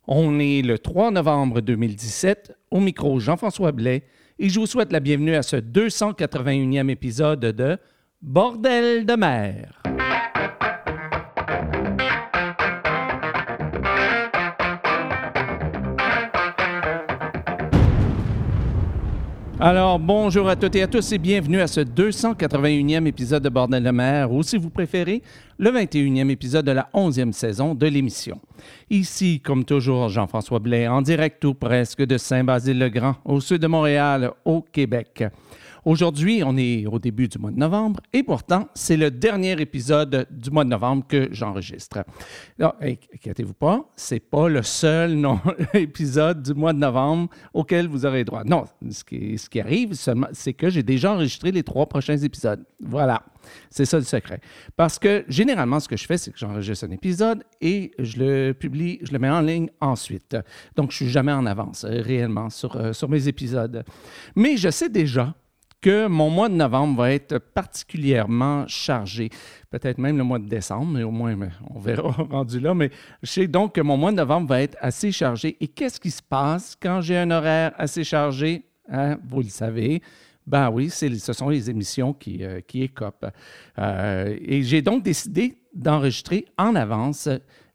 On est le 3 novembre 2017, au micro Jean-François Blais, et je vous souhaite la bienvenue à ce 281e épisode de Bordel de mer. Alors, bonjour à toutes et à tous et bienvenue à ce 281e épisode de Bordel de mer, ou si vous préférez, le 21e épisode de la 11e saison de l'émission. Ici, comme toujours, Jean-François Blais, en direct ou presque de Saint-Basile-le-Grand, au sud de Montréal, au Québec. Aujourd'hui, on est au début du mois de novembre et pourtant, c'est le dernier épisode du mois de novembre que j'enregistre. Non, inquiétez-vous pas, c'est pas le seul épisode du mois de novembre auquel vous aurez droit. Non, ce qui arrive seulement, c'est que j'ai déjà enregistré les 3 prochains épisodes. Voilà, c'est ça le secret. Parce que généralement, ce que je fais, c'est que j'enregistre un épisode et je le publie, je le mets en ligne ensuite. Donc, je suis jamais en avance réellement sur mes épisodes. Mais je sais déjà que mon mois de novembre va être particulièrement chargé. Peut-être même le mois de décembre, mais au moins, on verra rendu là. Mais je sais donc que mon mois de novembre va être assez chargé. Et qu'est-ce qui se passe quand j'ai un horaire assez chargé? Hein? Vous le savez. Ben oui, ce sont les émissions qui écopent. Et j'ai donc décidé d'enregistrer en avance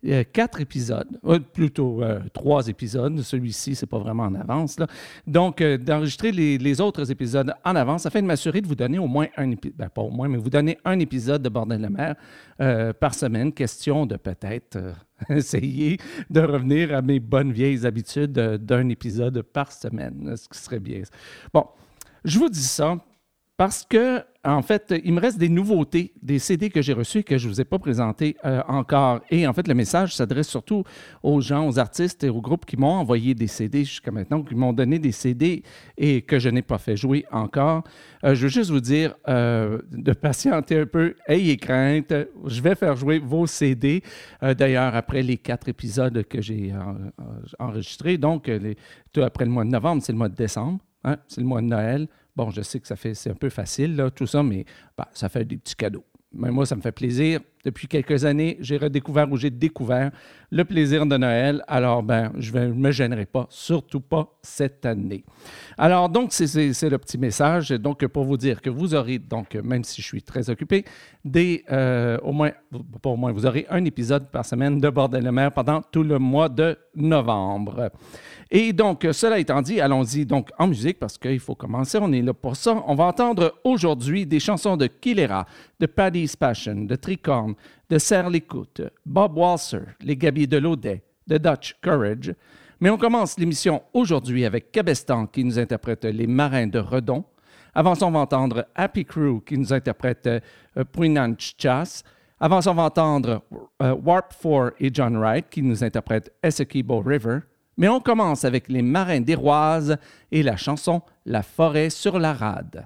4 épisodes, plutôt 3 épisodes. Celui-ci, c'est pas vraiment en avance, là. Donc, d'enregistrer les autres épisodes en avance afin de m'assurer de vous donner au moins un épisode, pas au moins, mais vous donner un épisode de Bordel de mer par semaine. Question de peut-être essayer de revenir à mes bonnes vieilles habitudes d'un épisode par semaine, ce qui serait bien. Bon, je vous dis ça parce que, en fait, il me reste des nouveautés, des CD que j'ai reçus et que je ne vous ai pas présentés encore. Et en fait, le message s'adresse surtout aux gens, aux artistes et aux groupes qui m'ont envoyé des CD jusqu'à maintenant, qui m'ont donné des CD et que je n'ai pas fait jouer encore. Je veux juste vous dire de patienter un peu. Ayez crainte, je vais faire jouer vos CD. D'ailleurs, après les 4 épisodes que j'ai enregistrés, donc tout après le mois de novembre, c'est le mois de décembre, hein, c'est le mois de Noël. Bon, je sais que c'est un peu facile, là, tout ça, mais ça fait des petits cadeaux. Mais moi, ça me fait plaisir. Depuis quelques années, j'ai découvert le plaisir de Noël. Alors, je ne me gênerai pas, surtout pas cette année. Alors, donc, c'est le petit message. Donc, pour vous dire que vous aurez, donc, même si je suis très occupé, vous aurez un épisode par semaine de Bordel de mer pendant tout le mois de novembre. Et donc, cela étant dit, allons-y donc en musique parce qu'il faut commencer, on est là pour ça. On va entendre aujourd'hui des chansons de Kilera, de Paddy's Passion, de Tricorn, de Serre l'Écoute, Bob Walser, les Gabiers de l'Audet, de Dutch Courage. Mais on commence l'émission aujourd'hui avec Cabestan qui nous interprète Les Marins de Redon. Avant ça, on va entendre Happy Crew qui nous interprète Puinanch Chas. Avant ça, on va entendre Warp 4 et John Wright qui nous interprètent Essequibo River. Mais on commence avec les Marins d'Héroise et la chanson La forêt sur la rade.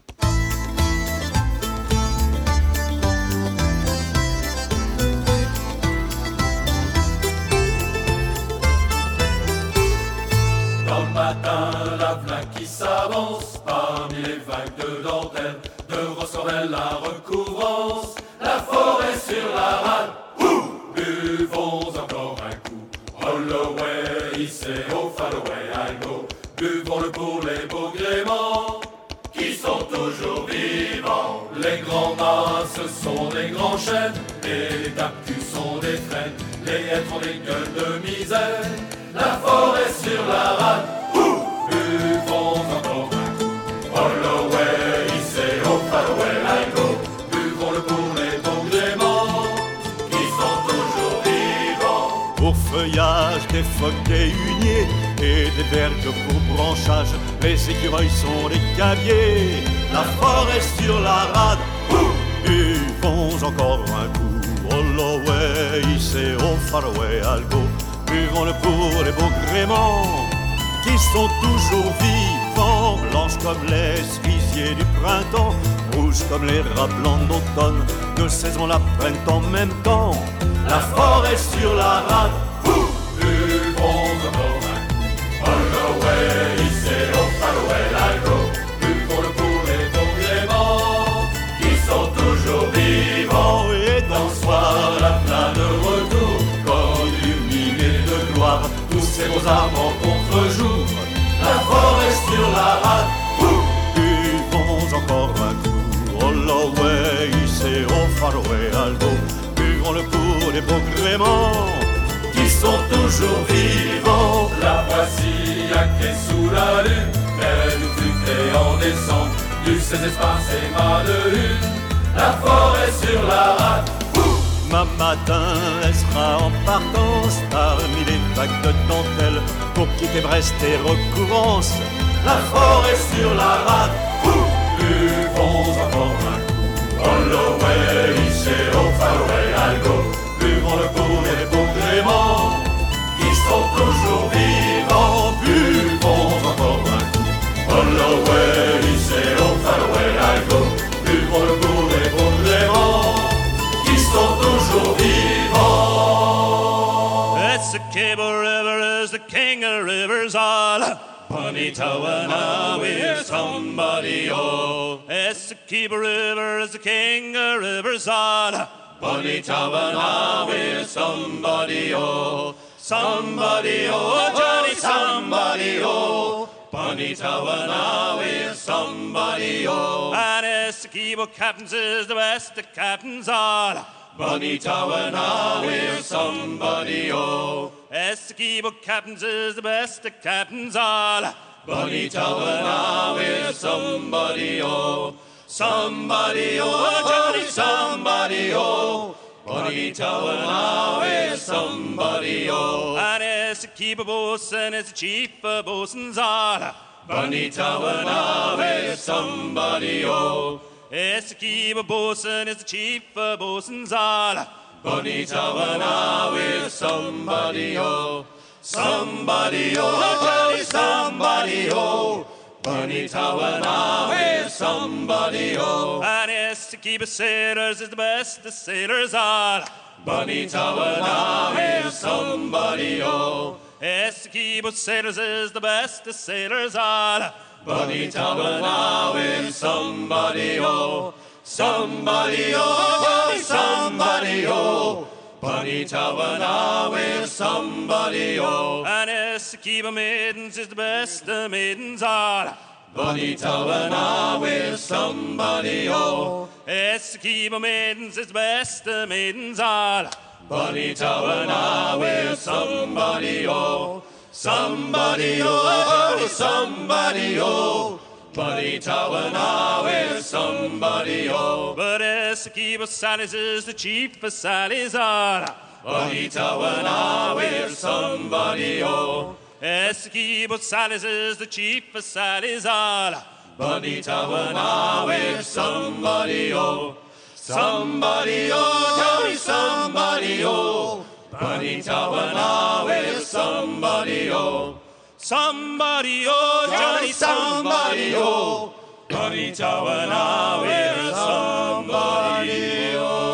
Dans le matin, la vague qui s'avance parmi les vagues de dentelle, de ressorel la recouvrance, la forêt sur la rade. Buvons encore un coup. Holloway, hissé au Falloway, I go. Buvons-le pour les beaux gréements qui sont toujours vivants. Les grands mâts, ce sont des grands chênes, les tapus sont des frênes, les hêtres ont des gueules de misère. La forêt sur la rade, buvons encore un coup. Holloway, hissé au Falloway, I go. Buvons-le pour les beaux gréements qui sont toujours vivants. Pour feuillage, des phoques, des huniers et des vergues pour branchage, les écureuils sont des caviers. La forêt sur la rade, buvons encore un coup. Holloway, hissé au Faroé, Algo. Buvons-le pour les beaux gréements qui sont toujours vivants, blanches comme les cerisiers du printemps, rouges comme les rats blancs d'automne. Deux saisons la prennent en même temps. La forêt sur la rade, buvons encore un coup. Holloway, hissé au Falloway, I go. Buvons-le pour les beaux gréements qui sont toujours vivants. Et dans le soir, la pleine de retour, comme illuminé de gloire. ses beaux arbres en contre-jour, la forêt sur la rade. Buvons encore un coup, Holloway, c'est au Faroé Algo. Buvons-le pour les beaux gréments qui sont toujours vivants. La voici à quai sous la lune, elle nous fut créée en décembre, du 16 espaces et mât de une, la forêt sur la rade. Ma matin, elle sera en partance parmi les vagues de dentelle pour quitter Brest et Recouvrance, la forêt sur la rade. Buvons encore un coup, Holloway, c'est au Faroé Algo. Buvons-le pour les beaux gréments qui sont toujours vivants. Buvons encore un coup, Holloway, c'est au Faroé Algo. Buvons-le pour les beaux gréments qui sont toujours vivants. It's the Cable River, is the king of rivers all. Bonitawana, we're somebody, oh. It's the Cable River, is the king of rivers all. Bonitawana, we're somebody, oh. Somebody, oh, Johnny, somebody, oh. Bonitawana, we're somebody, oh. And it's the Cable captains is the best of captains all. Bonitawana, we're somebody, oh. Esquibo captains is the best of captains all. Bonitawana, we're somebody, oh. Somebody, oh, Johnny, somebody, oh. Bonitawana, we're somebody, oh. And Esquibo bosun is the chief of bosuns all. Bonitawana, we're somebody, oh. Esquibo bosun is the chief of bosuns all. Bonitawana, we're somebody, oh. Somebody, oh, Johnny, somebody, oh. Bonitawana, we're somebody, oh. And Esquibo sailors is the best of sailors all. Bonitawana, we're somebody, oh. Esquibo sailors is the best of sailors all. Bonitawana, we're somebody, oh. Somebody, oh, Johnny, somebody, oh. Bonitawana, we're somebody, oh. And Esquibo maidens is the best of maidens all. Bonitawana, we're somebody, oh. Esquibo maidens is the best of maidens all. Bonitawana, we're somebody, oh. Somebody, oh, Johnny, somebody, oh. Bonitawana, we're somebody, oh. But Esquibo Sallies is the chief of Sallies all. Bonitawana, we're somebody, oh. Esquibo Sallies is the chief of Sallies all. Bonitawana, we're somebody, oh. Somebody, oh, Johnny, somebody, oh. Bonitawana, we're somebody, oh. Somebody, oh, Johnny, somebody, oh. Bonitawana, we're somebody,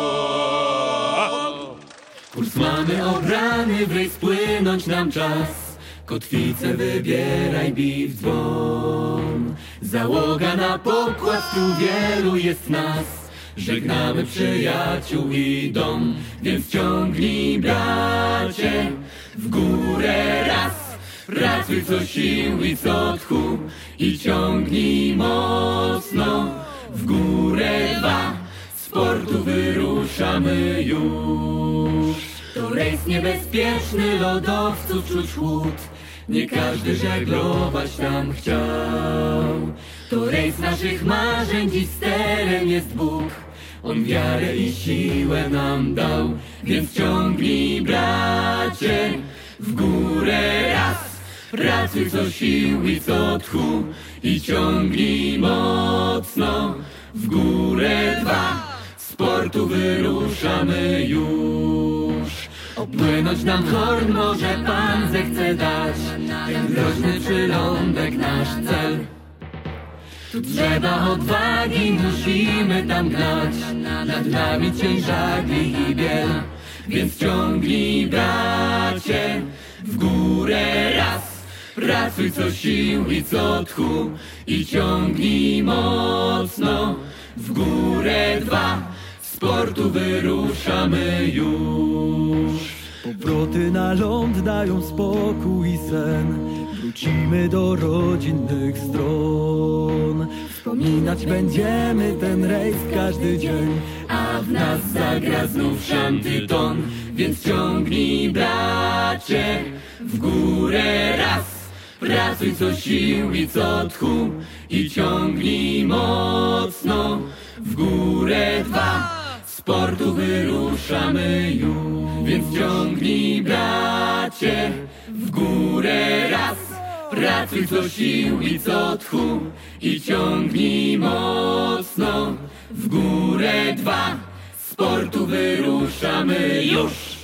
oh. Kurs mamy obrany, wyjść spłynąć nam czas. Kotwicę wybieraj, bij w dzwon. Załoga na pokład, tu wielu jest nas. Żegnamy przyjaciół i dom, więc ciągnij, bracie, w górę raz. Pracuj co sił i co tchu i ciągnij mocno, w górę dwa. Z portu wyruszamy już. To rejs niebezpieczny, lodowców czuć chłód. Nie każdy żeglować tam chciał. To rejs naszych marzeń, dziś sterem jest Bóg. On wiarę i siłę nam dał, więc ciągnij, bracie, w górę raz. Pracuj co sił i co tchu i ciągnij mocno, w górę dwa. Z portu wyruszamy już. Opłynąć nam Horn może Pan zechce dać, ten groźny przylądek nasz cel. Tu trzeba odwagi, musimy tam gnać, nad nami cień żagli i biel. Więc ciągnij, bracie, w górę raz. Pracuj co sił i co tchu i ciągnij mocno, w górę dwa. Z portu wyruszamy już. Powroty na ląd dają spokój i sen. Wrócimy do rodzinnych stron. Wspominać będziemy ten rejs każdy dzień, A w nas zagra znów szantyton. Więc ciągnij, bracie, w górę raz. Pracuj co sił i co tchu i ciągnij mocno, w górę dwa. Z portu wyruszamy już. Więc ciągnij, bracie, w górę raz. Pracuj co sił i co tchu i ciągnij mocno, w górę dwa. Z portu wyruszamy już.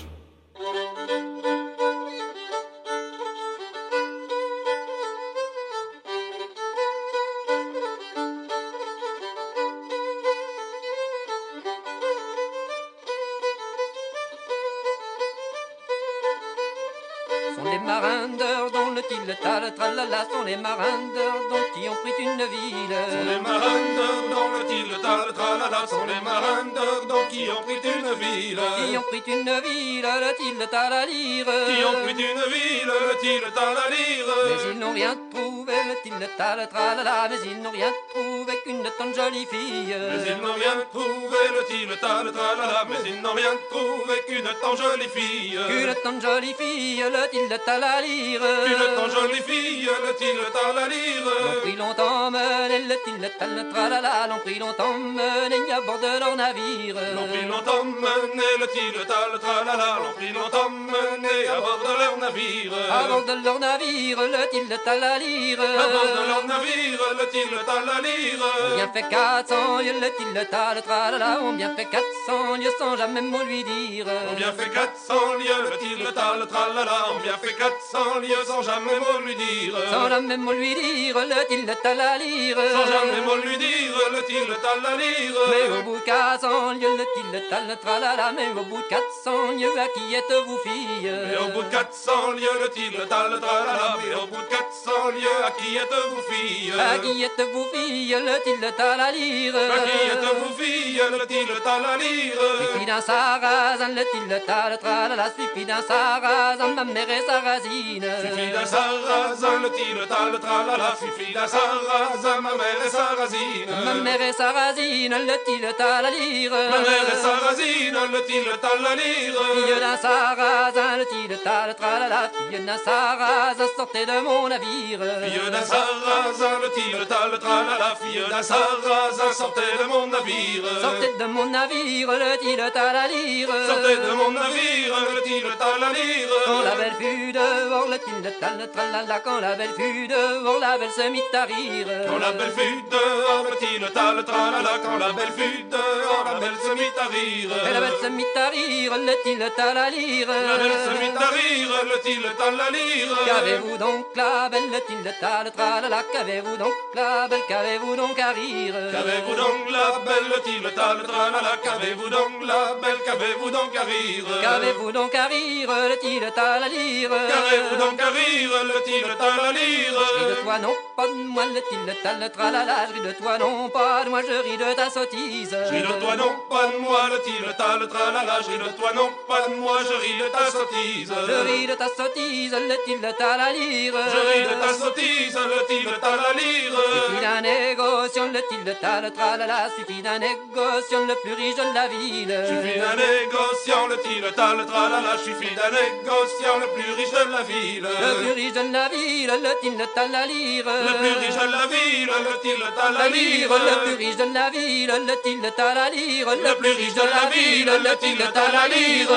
Sont les marins d'heure dont le til-tal tralala, sont les marins d'heure dont qui ont pris une ville. Sont les marins d'heure dont le til-tal tralala, sont les marins d'heure dont qui ont pris une ville. Qui ont pris une ville, le til-tal à lire. Qui ont pris une ville, le til-tal à lire. Mais ils n'ont rien trouvé, le til-tal tralala, mais ils n'ont rien trouvé qu'une tonne jolie fille. Mais ils n'ont rien trouvé, le til-tal tralala, mais ils n'ont rien trouvé qu'une tant jolie fille. Qu'une tonne jolie fille, le til-tal à lire. Qu'une tant jolie fille, le til-tal à lire. L'ont pris longtemps mené, le til-tal tralala, l'ont pris longtemps mené à bord de leur navire. L'ont pris longtemps mené, le til-tal tralala, l'ont pris longtemps mené à bord de leur navire. À bord de leur navire, le til-tal à lire. À bord de leur navire, le til-tal à lire. On bien fait 400 lieues, le til-tal tralala, on bien fait 400 lieues sans jamais mot lui dire. On bien fait 400 lieues, le til-tal tralala, on bien fait 400 lieues sans jamais mot lui dire. Sans jamais mot lui dire, le til-tal à lire. Sans jamais mot lui dire, le til-tal à lire. Mais au bout de 400 lieues, le til-tal tralala, mais au bout de 400 lieues, à qui êtes-vous fille? Mais au bout de 400 lieues, le til-tal tralala, mais au bout de 400 lieues, à qui êtes-vous fille? À qui êtes-vous fille, le til-tal à lire? À qui êtes-vous fille, le til-tal à lire? Suffit d'un sarrasin, le til-tal tralala, suffit d'un sarrasin, ma mère est sarrasine. Suffit d'un sarrasin, le til-tal tralala, suffit d'un sarrasin, ma mère est sarrasine. Ma mère est sarrasine, le til-tal à lire. Ma mère est sarrasine, le til-tal à lire. Fille d'un sarrasin, le til-tal tralala, fille d'un sarrasin, sortez de mon navire. Fille d'un sarrasin, le til-tal tralala, fille d'un sarrasin, sortez de mon navire. Sortez de mon navire, le til-tal à lire. Sortez de mon navire, le til-tal à lire. Quand la belle fut dehors, le til-tal tralala, quand la belle fut dehors, la belle se mit à rire. Quand la belle fut dehors, le til-tal tralala, quand la belle fut dehors, la belle se mit à rire. Et la belle se mit à rire, le til-tal à lire. La belle se mit à rire, le til-tal à lire. Qu'avez-vous donc la belle, le til-tal tralala, qu'avez-vous donc la belle, qu'avez-vous donc à rire? Qu'avez-vous donc la belle, le til-tal tralala, qu'avez-vous donc la belle, qu'avez-vous donc à rire? Qu'avez-vous donc à rire, le til-tal à lire? Qu'avez-vous donc à rire, le til-tal à lire? Je ris de toi, non pas de moi, le til-tal tralala, je ris de toi, non pas de moi, je ris de ta sottise. Je ris de toi, non pas de moi, le til-tal tralala, je ris de toi, non pas de moi, je ris de ta sottise. Je ris de ta sottise, le til-tal à lire. Je ris de ta sottise, le til-tal à lire. Suffit d'un négociant, le til-tal tralala, suffit d'un négociant, le plus riche de la ville. Suffit d'un négociant, le til-tal tralala, suffit d'un négociant, le plus riche de la ville. Le plus riche de la ville, le til-tal à lire. Le plus riche de la ville, le til-tal à lire. Le plus riche de la ville, le til-tal à lire. Le plus riche de la ville, le til-tal à lire.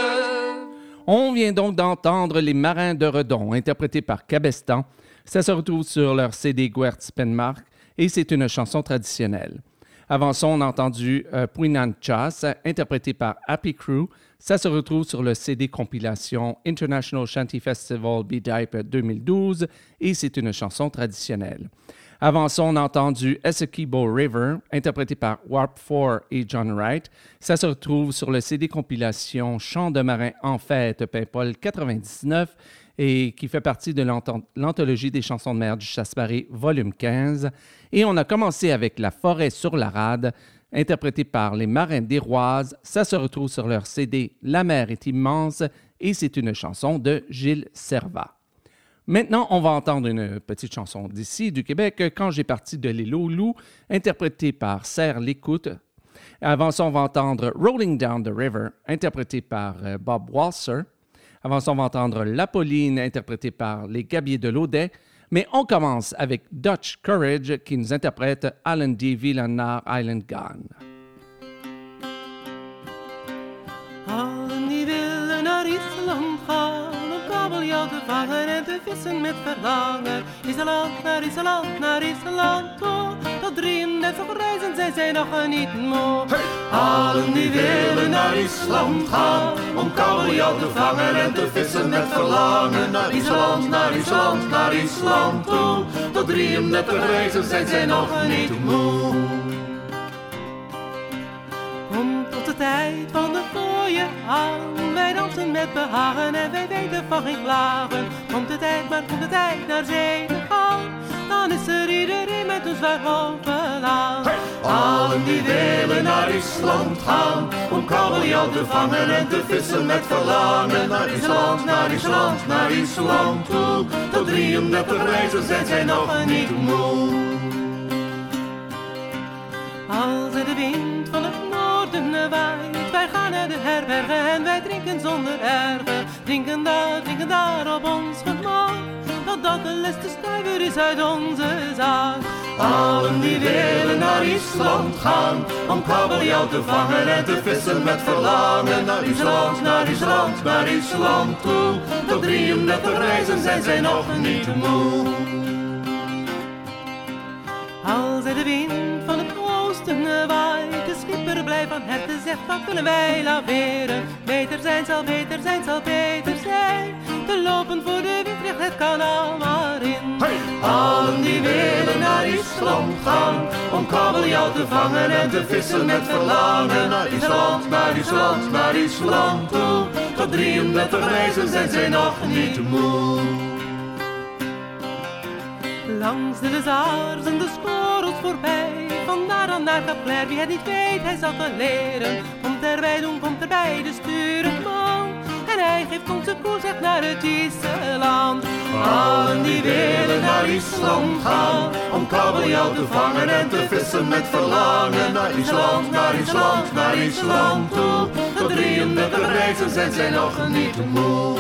On vient donc d'entendre Les Marins de Redon, interprétés par Cabestan. Ça se retrouve sur leur CD Guertz Penmark et c'est une chanson traditionnelle. Avant ça, on a entendu Puinanchas, interprété par Happy Crew. Ça se retrouve sur le CD compilation International Shanty Festival B-Type 2012 et c'est une chanson traditionnelle. Avant ça, on a entendu Essequibo River, interprété par Warp 4 et John Wright. Ça se retrouve sur le CD compilation Chants de marins en fête Paimpol 99 et qui fait partie de l'anthologie des chansons de mer du Chasse-Marée, volume 15. Et on a commencé avec La forêt sur la rade, interprété par les Marins d'Héroise. Ça se retrouve sur leur CD La mer est immense et c'est une chanson de Gilles Servat. Maintenant, on va entendre une petite chanson d'ici, du Québec, « Quand j'ai parti de l'île aux loups », interprétée par Serre l'Écoute. Avant ça, on va entendre « Rolling Down the River », interprété par Bob Walser. Avant ça, on va entendre « La Pauline », interprétée par les Gabiers de l'Audet. Mais on commence avec Dutch Courage, qui nous interprète « Allen Davy naar Island Gone ». Allen die willen naar Island gaan, om kabeljauw te vangen en te vissen met verlangen. Island, naar Island toe, tot 33 reizen zijn zij nog niet moe. Hey! Allen die willen naar Island gaan, om kabeljauw te vangen en te vissen met verlangen. Naar Island, naar Island toe, tot 33 reizen zijn zij nog niet moe. Komt tot de tijd van de fooie aan, wij dansen met behagen en wij weten van geen klagen. Komt de tijd naar zee te gaan, dan is er iedereen met een zwaar hoofd aan. Hey! Allen die willen naar Island gaan, om kabeljauw te vangen en te vissen met verlangen. Naar Island, naar Island toe, tot 33 reizen zijn zij nog niet moe. Als er de wind van het noorden waait, wij gaan naar de herbergen en wij drinken zonder ergen. Drinken daar op ons gemak, totdat de laatste stuiver is uit onze zaak. Allen die willen naar Island gaan, om kabeljauw te vangen en te vissen met verlangen. Naar Island toe, tot 33 reizen zijn zij nog niet moe. Als er de wind van het oosten waait, de schipper blij van harte zegt, wat willen wij laveren? Beter zijn zal beter zijn, te lopen voor de wind het kanaal maar in. Hey! Allen die willen naar Island gaan, om kabeljauw te vangen en te vissen met verlangen. Naar Island toe, tot 33 reizen zijn zij nog niet moe. Langs de Lezars en de Skorrels voorbij, vandaar dan naar Capler, wie het niet weet, hij zal het leren. Komt erbij de stuurman, en hij geeft ons de koers echt naar het Island. Allen die willen naar Island gaan, om kabeljauw te vangen en te vissen met verlangen. Naar Island toe, tot 33 reizen zijn zij nog niet moe.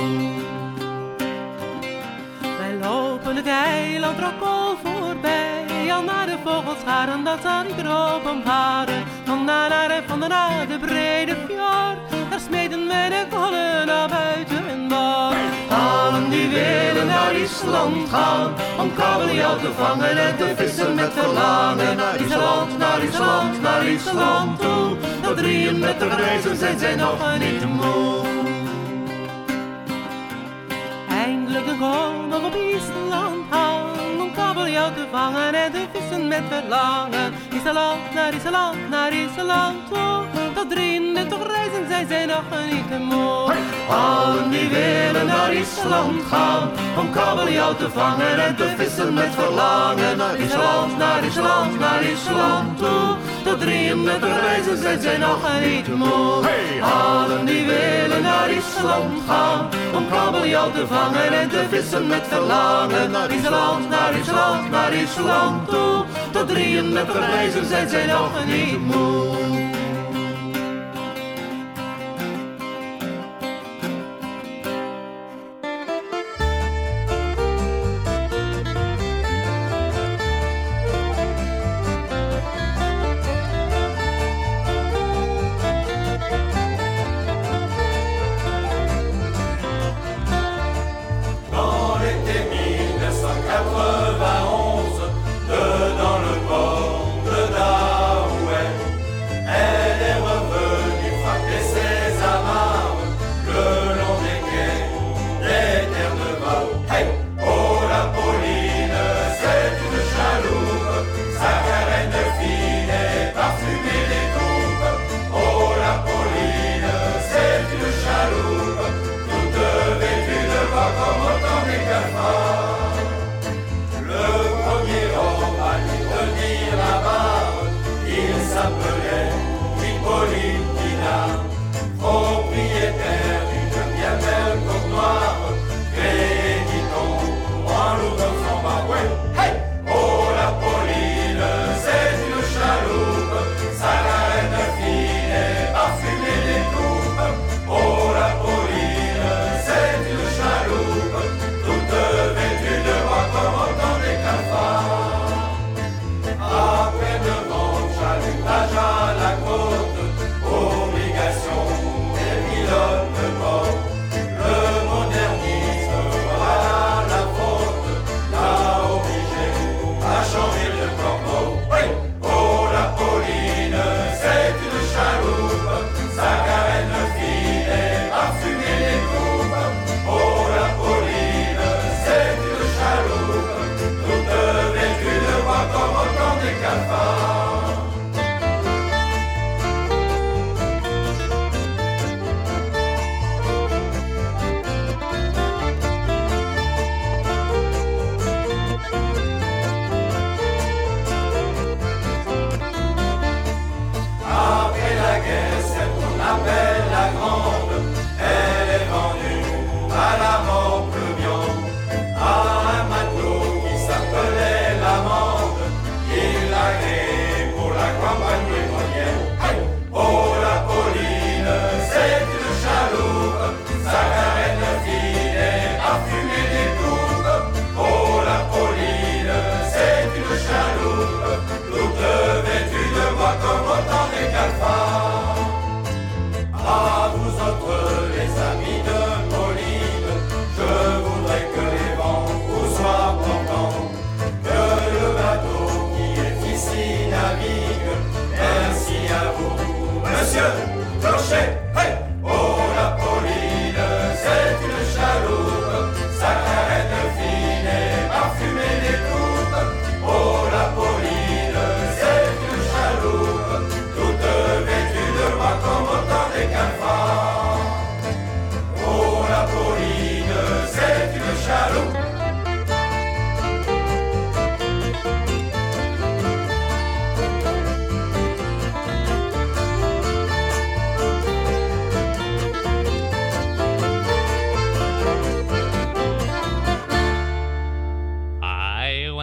Lopen het eiland Rockall voorbij, al naar de vogelscharen, dat zal niet erop omvaren. Van daarna de brede fjord, daar smeden wij de kollen naar buiten boord. Allen die willen naar Island gaan, om kabeljauw te vangen en te vissen met verlangen. Naar Island toe, tot 33 reizen zijn zij nog niet moe. Eindelijk een koning op Island hangt, om kabeljauw te vangen en te vissen met verlangen. Naar Island toe, tot 33 reizen zijn zij nog niet moe. Hey! Allen die willen naar Island gaan, om kabeljauw te vangen en te vissen met verlangen. Naar Island toe, tot 33 reizen zijn zij nog niet moe. Hey! Allen die willen naar Island gaan, om kabeljauw te vangen en te vissen met verlangen. Naar Island toe, tot 33 reizen zijn zij nog niet moe. Dedans le port de Daouet,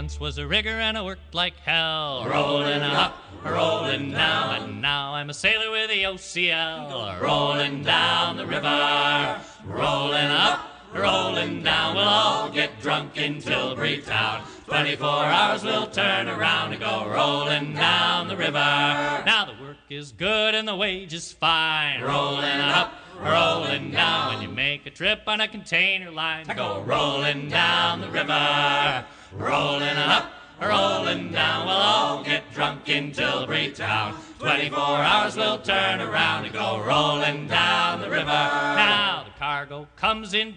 once was a rigger and I worked like hell. Rolling up, rolling down, and now I'm a sailor with the OCL. Rolling down the river, rolling up, rolling down. We'll all get drunk in Tilbury Town. 24 hours we'll turn around and go rolling down the river. Now the work is good and the wage is fine. Rolling up, rolling down. When you make a trip on a container line, go rolling down the river. Rolling up, rolling down. We'll all get drunk in Tilbury Town. 24 hours we'll turn around and go rolling down the river. Now the cargo comes in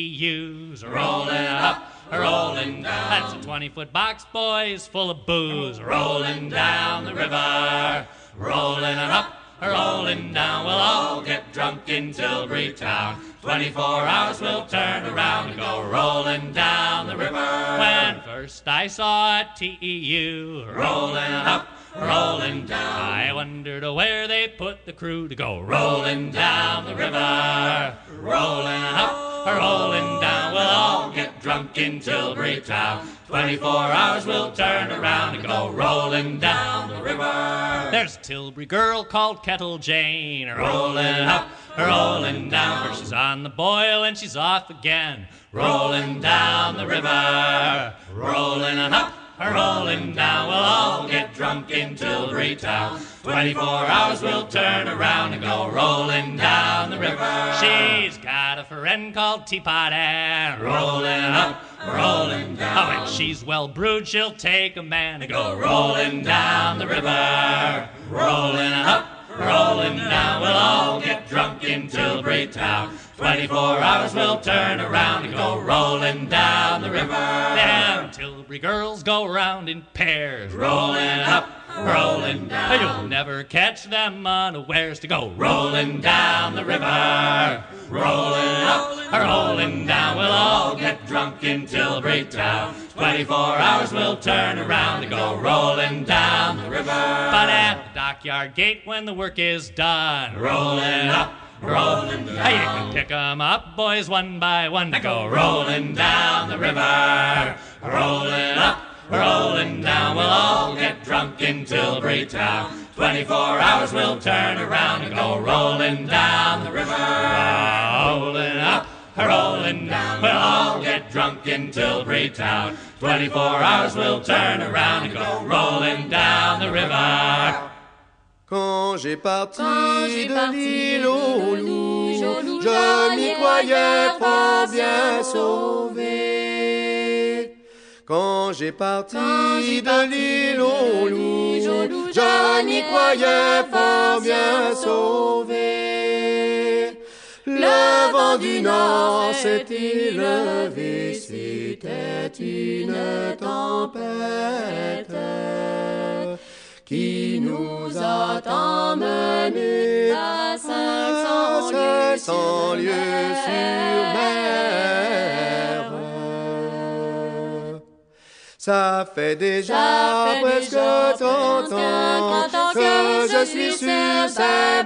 TEUs. Rolling up, rolling down. That's a 20-foot box, boys, full of booze. Rolling down the river. Rolling up, rolling down. We'll all get drunk in Tilbury Town. 24 hours we'll turn around and go rolling down the river. When first I saw a TEU rolling up, rolling down, I wondered where they put the crew to go rolling down the river. Rolling up, rolling down. We'll all get drunk in Tilbury Town. 24 hours we'll turn around and go rolling down the river. There's a Tilbury girl called Kettle Jane, rolling up, rolling down. First she's on the boil and she's off again, rolling down the river. Rolling up, rolling down. We'll all get drunk in Tilbury Town. 24 hours we'll turn around and go rolling down the river. She's got a friend called Teapot Ann, rolling up, rolling down. Oh, when she's well brewed, she'll take a man and go rolling down the river. Rolling up, rolling down. We'll all get drunk in Tilbury Town. 24 hours we'll turn around and go rolling down the river. Them Tilbury girls go round in pairs, rolling up, rolling down. You'll never catch them unawares to go rolling down the river. Rolling up, rolling down. We'll all get drunk in Tilbury Town. 24 hours we'll turn around and go rolling down the river. But at the dockyard gate when the work is done, rolling up, rolling down. Hey, you can pick 'em up, boys, one by one to go rolling down the river. Rolling up, rolling down. We'll all get drunk in Tilbury Town. 24 hours we'll turn around and go rolling down the river. Rolling up, rolling down. We'll all get drunk in Tilbury Town. 24 hours we'll turn around and go rolling down the river. Quand j'ai parti de l'île aux loups, je m'y croyais fort bien sauvé. Quand j'ai parti de l'île aux loups, je m'y croyais fort bien sauvé. Le vent du nord s'était levé, c'était une tempête qui nous a emmenés à 500 lieues sur mer. Ça fait déjà presque 30 ans que je suis sur ces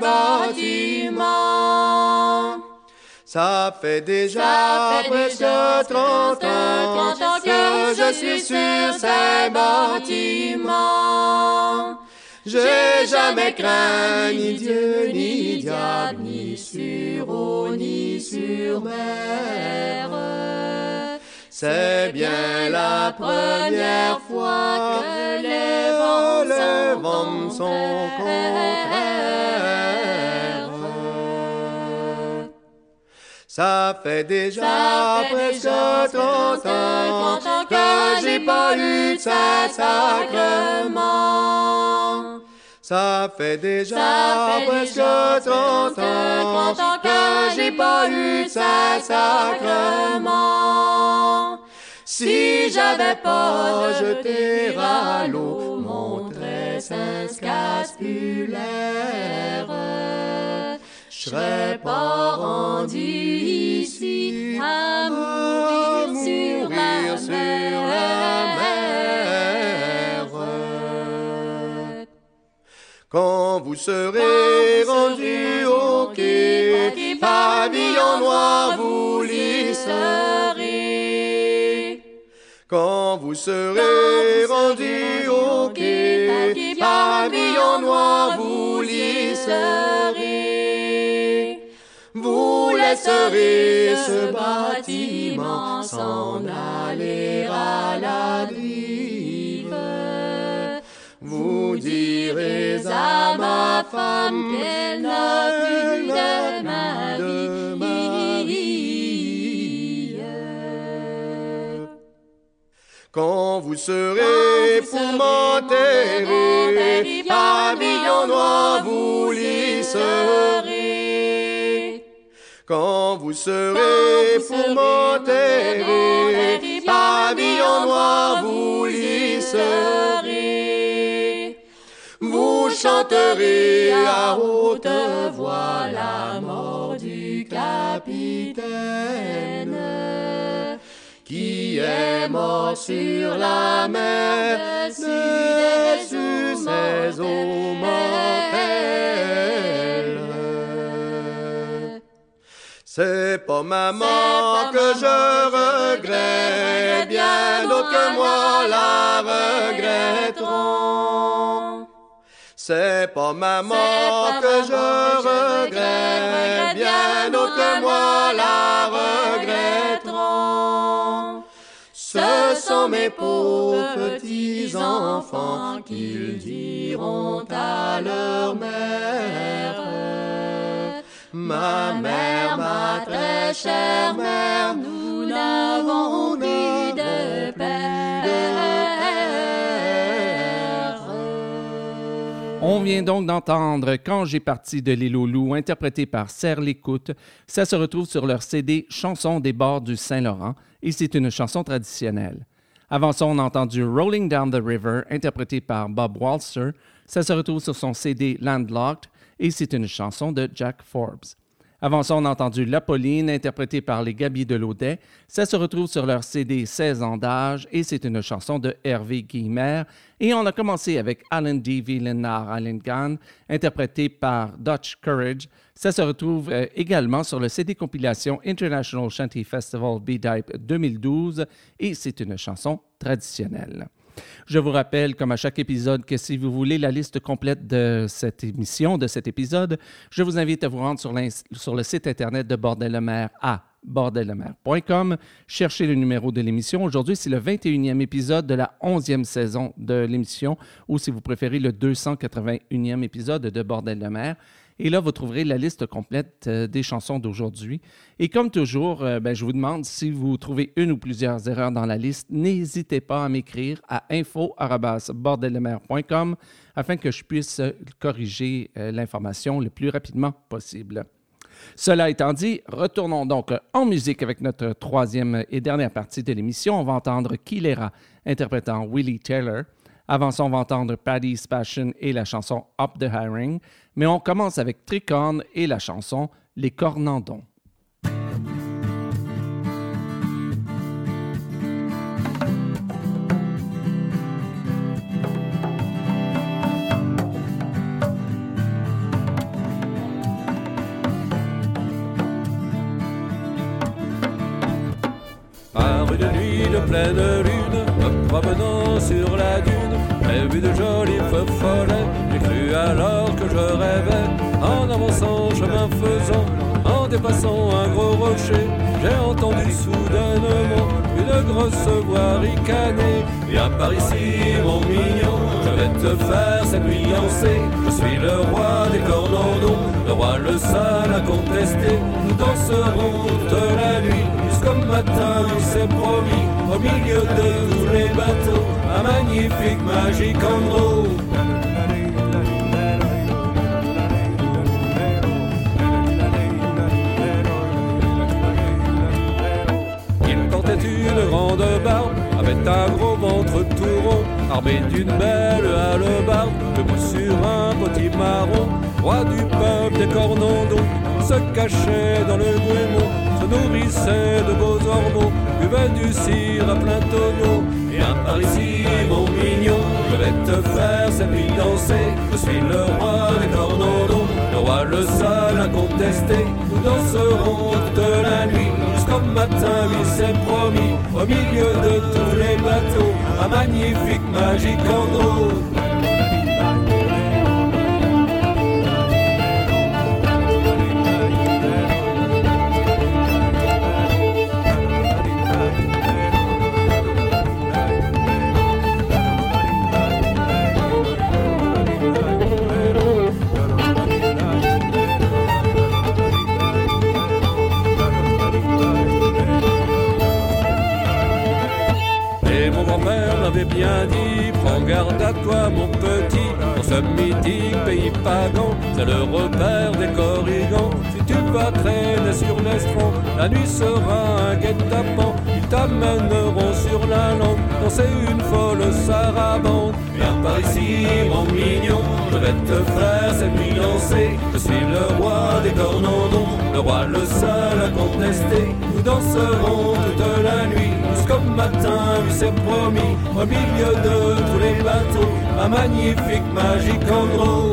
bâtiments. Ça fait déjà presque 30 ans que je suis sur ces bâtiments. J'ai jamais craint ni Dieu, ni diable, ni sur eau, ni sur mer. C'est bien la première fois que les vents sont contraires. Ça fait déjà presque 30 ans que j'ai pas eu de sacrement. Ça fait déjà presque 30 ans que j'ai pas eu de sacrement. Si j'avais pas jeté à l'eau mon tressin scapulaire, je serais pas rendu ici à mourir sur la mer. Quand vous serez rendu au quai, pavillon noir vous l'y serez. Quand vous serez rendu au quai, pavillon noir vous lisserez. Vous laisserez ce bâtiment s'en aller à la dérive. Vous direz à ma femme qu'elle n'a plus de ma vie. Quand vous serez pour m'enterrer, pavillon noir vous lisserez. Quand vous serez pour m'enterrer, pavillon noir vous lisserez. Vous chanterez à haute voix la mort du capitaine qui est mort sur la mer, dessus ses eaux mortelles. C'est pas maman que je regrette, bien d'autres que moi la regretteront. C'est pas maman que je regrette, bien d'autres que moi la regretteront. Ce sont mes pauvres petits-enfants qu'ils diront à leur mère. Ma mère, ma très chère mère, nous n'avons plus de père. On vient donc d'entendre « Quand j'ai parti de l'île aux loups » interprété par Serre l'Écoute. Ça se retrouve sur leur CD « Chansons des bords du Saint-Laurent » et c'est une chanson traditionnelle. Avant ça, on a entendu « Rolling Down the River » interprété par Bob Walser. Ça se retrouve sur son CD « Landlocked » et c'est une chanson de Jack Forbes. Avant ça, on a entendu La Pauline, interprétée par les Gabiers de Laudet. Ça se retrouve sur leur CD 16 ans d'âge et c'est une chanson de Hervé Guillemert. Et on a commencé avec Alan D. Villenard Allengan, interprété par Dutch Courage. Ça se retrouve également sur le CD compilation International Shanty Festival B-Type 2012 et c'est une chanson traditionnelle. Je vous rappelle, comme à chaque épisode, que si vous voulez la liste complète de cette émission, de cet épisode, je vous invite à vous rendre sur le site Internet de Bordel-le-Maire à bordellemer.com. Cherchez le numéro de l'émission. Aujourd'hui, c'est le 21e épisode de la 11e saison de l'émission, ou si vous préférez, le 281e épisode de Bordel-le-Maire. Et là, vous trouverez la liste complète des chansons d'aujourd'hui. Et comme toujours, je vous demande si vous trouvez une ou plusieurs erreurs dans la liste, n'hésitez pas à m'écrire à info@bordellemer.com afin que je puisse corriger l'information le plus rapidement possible. Cela étant dit, retournons donc en musique avec notre troisième et dernière partie de l'émission. On va entendre Kilera interprétant Willie Taylor. Avant ça, on va entendre Paddy's Passion et la chanson Up the Hiring. Mais on commence avec Tricorne et la chanson Les Cornandons. Par une nuit de pleine lune, me promenant sur la dune, j'ai vu de jolis feux follets. J'ai cru alors que je rêvais, en avançant, chemin faisant, en dépassant un gros rocher. J'ai entendu soudainement une grosse voix ricaner. Viens par ici, mon mignon, je vais te faire cette nuit danser. Je suis le roi des Cornandons, le roi le seul à contester. Nous danserons toute la nuit, jusqu'au matin, c'est promis. Au milieu de tous les bateaux, un magnifique, magique endroit. Une grande barbe, avait un gros ventre tout rond, armé d'une belle hallebarde, debout sur un petit marron, roi du peuple des Cornandons, se cachait dans le goémon, se nourrissait de beaux ormeaux, buvait du cidre à plein tonneau. Viens par ici, mon mignon, je vais te faire cette nuit danser. Je suis le roi des Cornandons, le roi le seul à contester. Nous nous danserons toute la nuit, jusqu'au matin, oui c'est promis, au milieu de tous les bateaux, un magnifique, magique endroit. M'avait bien dit, prends garde à toi mon petit, dans ce mythique pays pagan, c'est le repère des corrigans. Si tu vas traîner sur l'estran, la nuit sera un guet-apens, ils t'amèneront sur la lande, danser une folle sarabande. Viens par ici mon mignon, je vais te faire cette nuit danser, je suis le roi des cornandons, le roi le seul à contester. Nous danserons toute la nuit, jusqu'au matin, oui c'est promis, au milieu de tous les bateaux, un magnifique, magique endroit.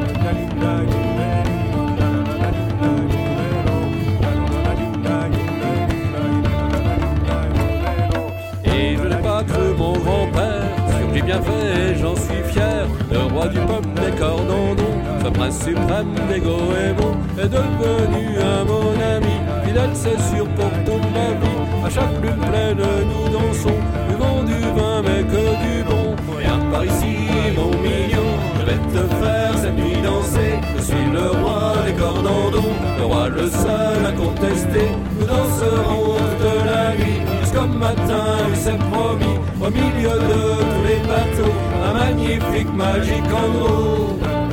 Et je n'ai pas cru mon grand-père, ce que j'ai bien fait, j'en suis fier. Le roi du peuple des Cordandons, ce prince suprême des Goémons, est devenu un mon ami, fidèle c'est sûr pour toute la vie. À chaque lune pleine nous dansons, buvons du vin mais que du bon. Viens par ici mon mignon, je vais te faire cette nuit danser. Je suis le roi des Cordandons, le roi le seul à contester. Nous danserons toute la nuit, jusqu'au matin, oui c'est promis, au milieu de tous les bateaux, un magnifique, magique endroit.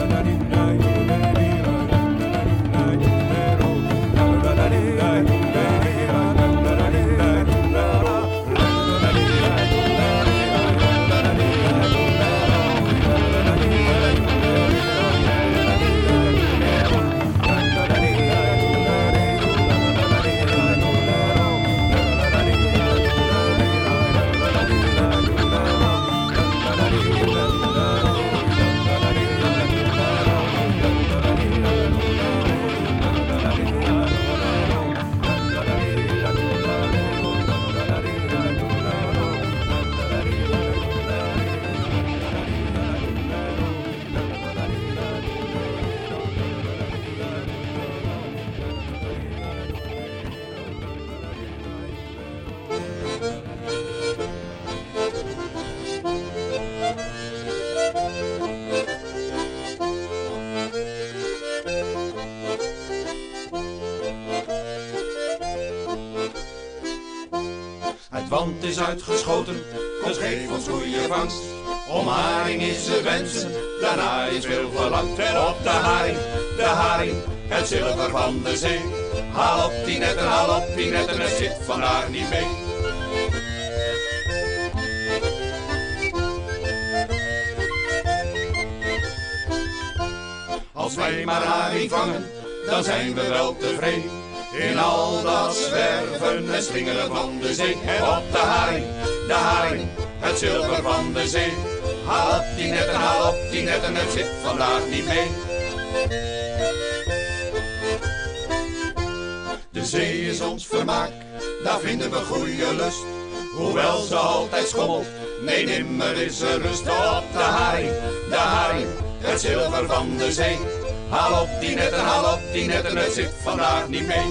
Want is uitgeschoten, dus geef ons goede vangst. Om haring is te wensen, daarna is veel verlangd. En op de haring, het zilver van de zee. Haal op die netten, het zit vandaag niet mee. Als wij maar haring vangen, dan zijn we wel tevreden. In al dat zwerven en slingeren van de zee. En op de haring, het zilver van de zee. Haal op die netten, het zit vandaag niet mee. De zee is ons vermaak, daar vinden we goede lust. Hoewel ze altijd schommelt, nee nimmer is er rust. Op de haring, het zilver van de zee. Haal op die netten, het zit vandaag niet mee.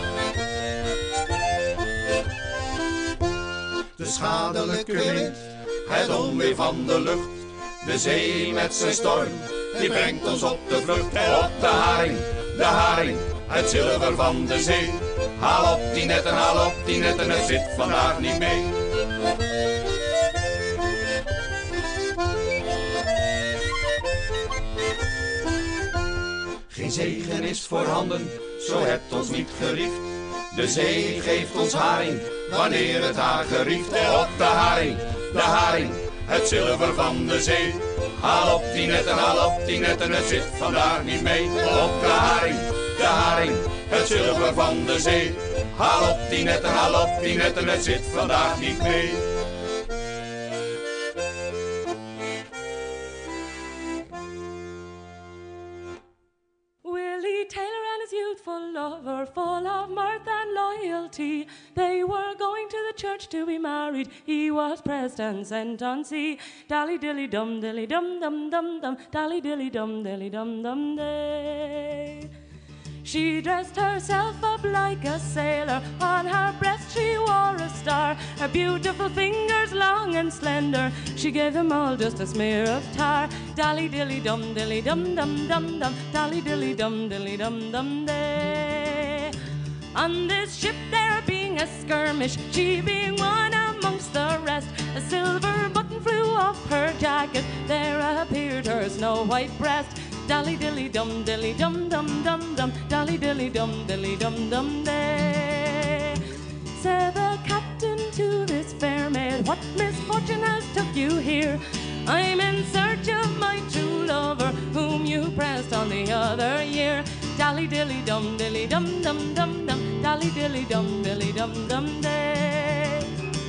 De schadelijke wind, het onweer van de lucht. De zee met zijn storm, die brengt ons op de vlucht. En op de haring, het zilver van de zee. Haal op die netten, het zit vandaag niet mee. Geen zegen is voorhanden, zo hebt ons niet geriefd. De zee geeft ons haring, wanneer het haar gerieft. Op de haring, het zilver van de zee. Haal op die netten, het zit vandaag niet mee. Op de haring, het zilver van de zee. Haal op die netten, het zit vandaag niet mee. Willie Taylor and his youthful lover tea. They were going to the church to be married. He was pressed and sent on sea. Dally dilly dum dilly dum dum dum dum. Dally dilly dum dilly dum dum day. She dressed herself up like a sailor. On her breast she wore a star. Her beautiful fingers long and slender, she gave them all just a smear of tar. Dally dilly dum dilly dum dum dum dum. Dally dilly dum dilly dum dum day. On this ship there being a skirmish, she being one amongst the rest, a silver button flew off her jacket. There appeared her snow white breast. Dally dilly dum dilly dum dum dum dum. Dally dilly dum dilly dum dum day. Said the captain to this fair maid, what misfortune has took you here? I'm in search of my true lover, whom you pressed on the other year. Dally dilly dum dilly dum dum dum dum. Dally dilly dum dilly dum dum day.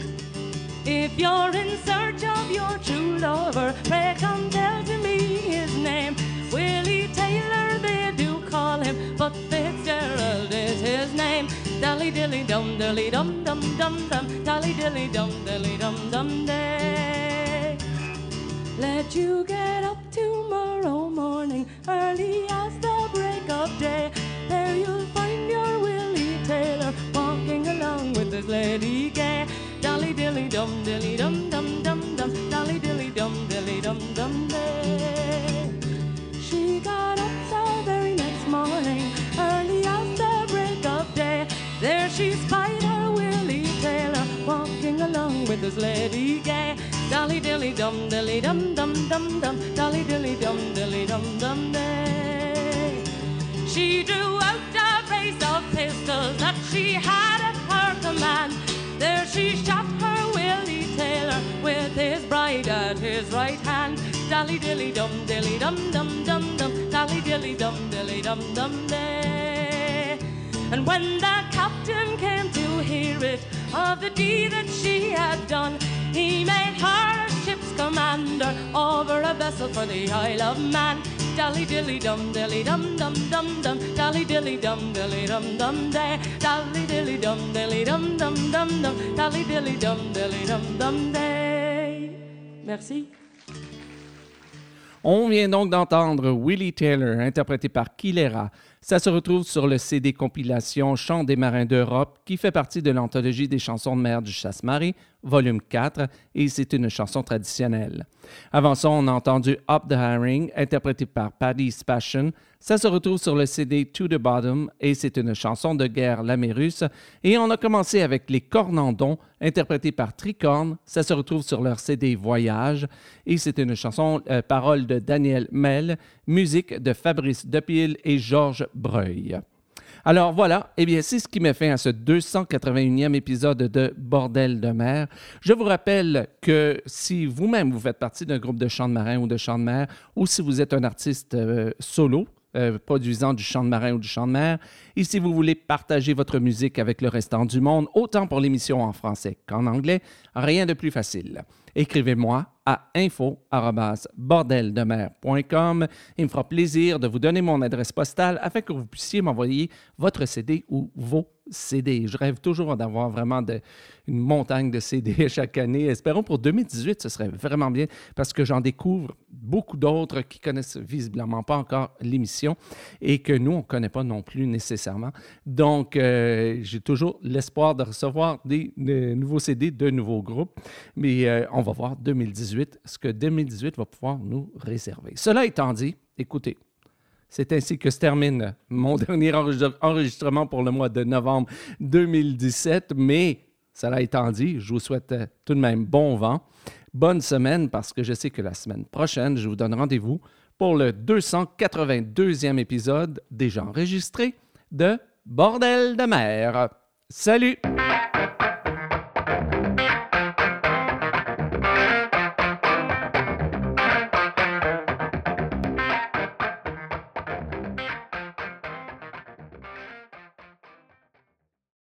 If you're in search of your true lover, pray come tell to me his name. Willie Taylor they do call him, but Fitzgerald is his name. Dally dilly dum dilly dum dum dum dum. Dally dilly dum dilly dum dum day. Let you get up tomorrow morning, early as the break of day. There you'll find your Willie Taylor walking along with his lady gay. Dally dilly dum dilly dum dum dum dum. Dally dilly dum dilly dum dum day. She got up the very next morning, early as the break of day. There she spied her Willie Taylor walking along with his lady gay. Dally dilly dum dilly dum dum dum dum. Dally dilly dum dilly dum dum day. She drew out a brace of pistols that she had at her command. There she shot her Willie Taylor with his bride at his right hand. Dally dilly dum dilly dum dum dum dum. Dally dilly dum dilly dum dum day. And when the captain came to hear it, of the deed that she had done, he made her a ship's commander over a vessel for the Isle of Man. Dally dilly dum dilly dum dum dum dum. Dally dilly dum dilly dum dum day. Dally dilly dum dilly dum dum dum dum. Dally dilly dum dilly dum dum day. Merci. On vient donc d'entendre Willie Taylor, interprété par Kilera. Ça se retrouve sur le CD compilation Chants des marins d'Europe, qui fait partie de l'anthologie des chansons de mer du Chasse-Marée, volume 4, et c'est une chanson traditionnelle. Avant ça, on a entendu Up the Herring, interprété par Paddy's Passion. Ça se retrouve sur le CD To the Bottom, et c'est une chanson de guerre lamérus. Et on a commencé avec Les Cornandons, interprété par Tricorne. Ça se retrouve sur leur CD Voyage, et c'est une chanson, paroles de Daniel Mel, musique de Fabrice Depille et Georges Breuil. Alors voilà, eh bien c'est ce qui met fin à ce 281e épisode de Bordel de mer. Je vous rappelle que si vous-même vous faites partie d'un groupe de chant de marin ou de chant de mer, ou si vous êtes un artiste solo, produisant du chant de marin ou du chant de mer, et si vous voulez partager votre musique avec le restant du monde, autant pour l'émission en français qu'en anglais, rien de plus facile. Écrivez-moi à info@bordeldemer.com. Il me fera plaisir de vous donner mon adresse postale afin que vous puissiez m'envoyer votre CD ou vos CD. Je rêve toujours d'avoir vraiment une montagne de CD chaque année. Espérons pour 2018, ce serait vraiment bien parce que j'en découvre beaucoup d'autres qui connaissent visiblement pas encore l'émission et que nous, on ne connaît pas non plus nécessairement. Donc, j'ai toujours l'espoir de recevoir des nouveaux CD de nouveaux groupes. Mais on va voir 2018, ce que 2018 va pouvoir nous réserver. Cela étant dit, écoutez, c'est ainsi que se termine mon dernier enregistrement pour le mois de novembre 2017. Mais, cela étant dit, je vous souhaite tout de même bon vent, bonne semaine, parce que je sais que la semaine prochaine, je vous donne rendez-vous pour le 282e épisode déjà enregistré de Bordel de mer. Salut!